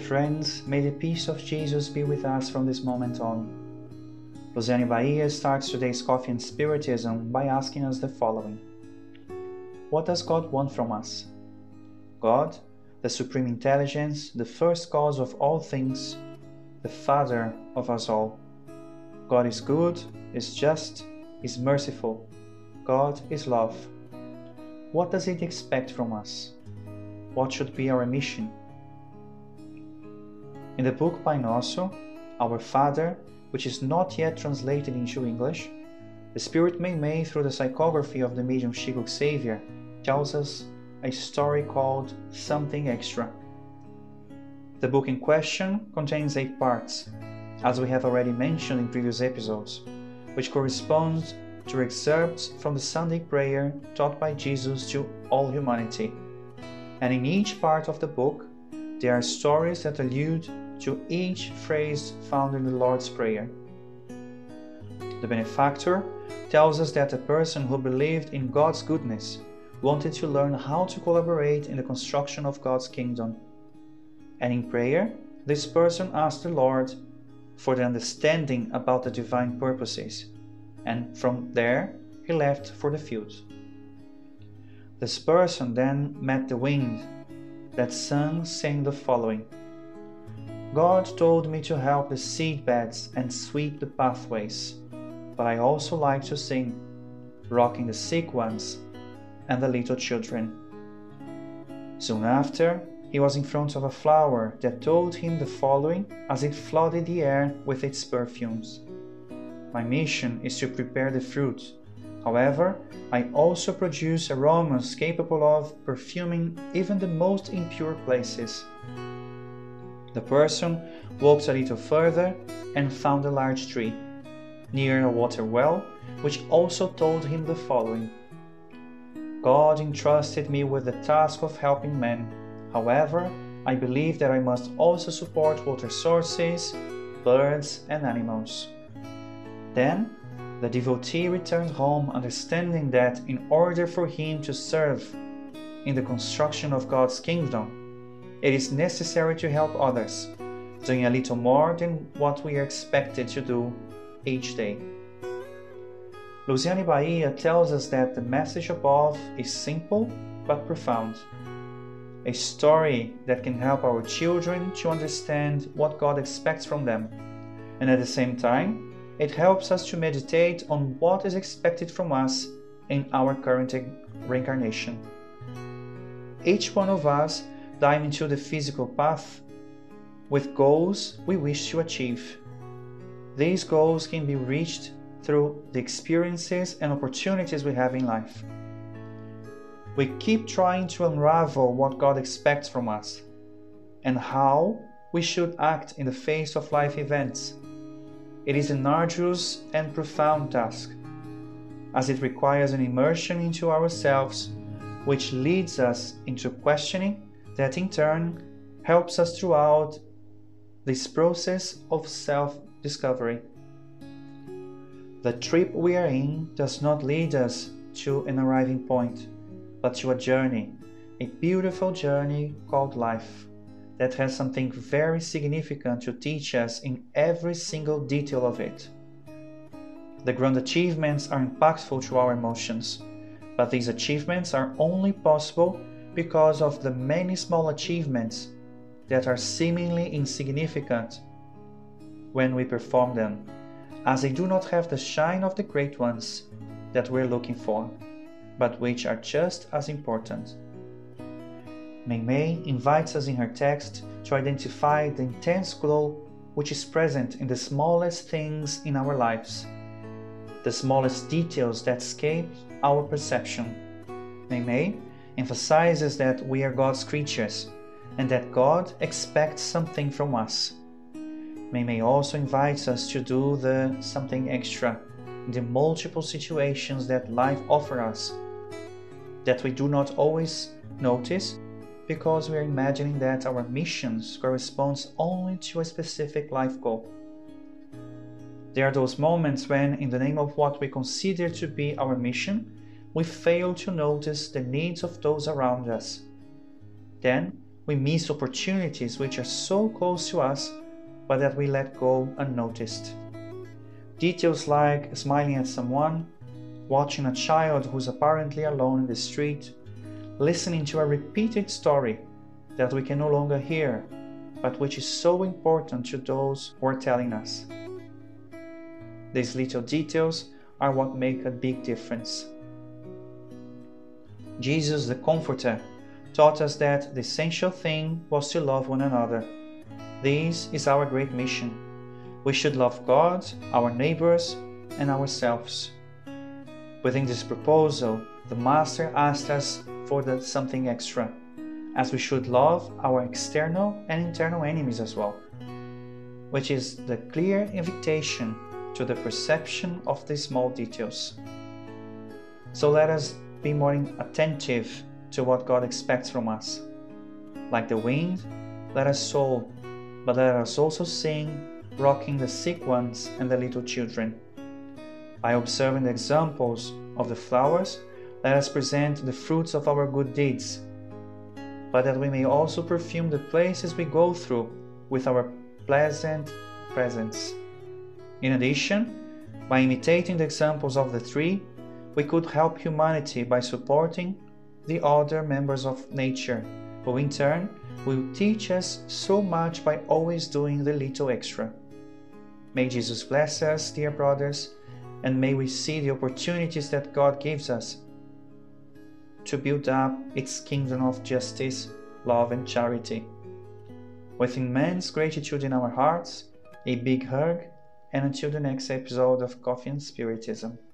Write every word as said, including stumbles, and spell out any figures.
Friends, may the peace of Jesus be with us from this moment on. Luciane Bahia starts today's Coffee and Spiritism by asking us the following. What does God want from us? God, the Supreme Intelligence, the first cause of all things, the Father of us all. God is good, is just, is merciful. God is love. What does it expect from us? What should be our mission? In the book Pai Nosso, Our Father, which is not yet translated into English, the Spirit Meimei, through the psychography of the medium Chico Xavier, tells us a story called Something Extra. The book in question contains eight parts, as we have already mentioned in previous episodes, which correspond to excerpts from the Sunday prayer taught by Jesus to all humanity. And in each part of the book, there are stories that allude to each phrase found in the Lord's Prayer. The benefactor tells us that a person who believed in God's goodness wanted to learn how to collaborate in the construction of God's kingdom. And in prayer, this person asked the Lord for the understanding about the divine purposes, and from there he left for the field. This person then met the wind that sang, saying the following: God told me to help the seed beds and sweep the pathways, but I also like to sing, rocking the sick ones and the little children. Soon after, he was in front of a flower that told him the following as it flooded the air with its perfumes: My mission is to prepare the fruit. However, I also produce aromas capable of perfuming even the most impure places. The person walked a little further and found a large tree, near a water well, which also told him the following: God entrusted me with the task of helping men. However, I believe that I must also support water sources, birds, and animals. Then, the devotee returned home, understanding that in order for him to serve in the construction of God's kingdom, it is necessary to help others, doing a little more than what we are expected to do each day. Luciane Bahia tells us that the message above is simple but profound. A story that can help our children to understand what God expects from them, and at the same time, it helps us to meditate on what is expected from us in our current reincarnation. Each one of us dive into the physical path with goals we wish to achieve. These goals can be reached through the experiences and opportunities we have in life. We keep trying to unravel what God expects from us and how we should act in the face of life events. It is an arduous and profound task, as it requires an immersion into ourselves, which leads us into questioning that in turn helps us throughout this process of self-discovery. The trip we are in does not lead us to an arriving point, but to a journey, a beautiful journey called life, that has something very significant to teach us in every single detail of it. The grand achievements are impactful to our emotions, but these achievements are only possible because of the many small achievements that are seemingly insignificant when we perform them, as they do not have the shine of the great ones that we're looking for, but which are just as important. Meimei invites us in her text to identify the intense glow which is present in the smallest things in our lives, the smallest details that escape our perception. Meimei emphasizes that we are God's creatures and that God expects something from us. Meimei also invites us to do the something extra in the multiple situations that life offers us, that we do not always notice because we are imagining that our missions corresponds only to a specific life goal. There are those moments when, in the name of what we consider to be our mission, we fail to notice the needs of those around us. Then we miss opportunities which are so close to us, but that we let go unnoticed. Details like smiling at someone, watching a child who's apparently alone in the street, listening to a repeated story that we can no longer hear, but which is so important to those who are telling us. These little details are what make a big difference. Jesus, the Comforter, taught us that the essential thing was to love one another. This is our great mission. We should love God, our neighbors, and ourselves. Within this proposal, the Master asked us for the something extra, as we should love our external and internal enemies as well, which is the clear invitation to the perception of these small details. So let us be more attentive to what God expects from us. Like the wind, let us sow, but let us also sing, rocking the sick ones and the little children. By observing the examples of the flowers, let us present the fruits of our good deeds, but that we may also perfume the places we go through with our pleasant presence. In addition, by imitating the examples of the three, we could help humanity by supporting the other members of nature, who in turn will teach us so much by always doing the little extra. May Jesus bless us, dear brothers, and may we see the opportunities that God gives us to build up its kingdom of justice, love, and charity. With immense gratitude in our hearts, a big hug, and until the next episode of Coffee and Spiritism.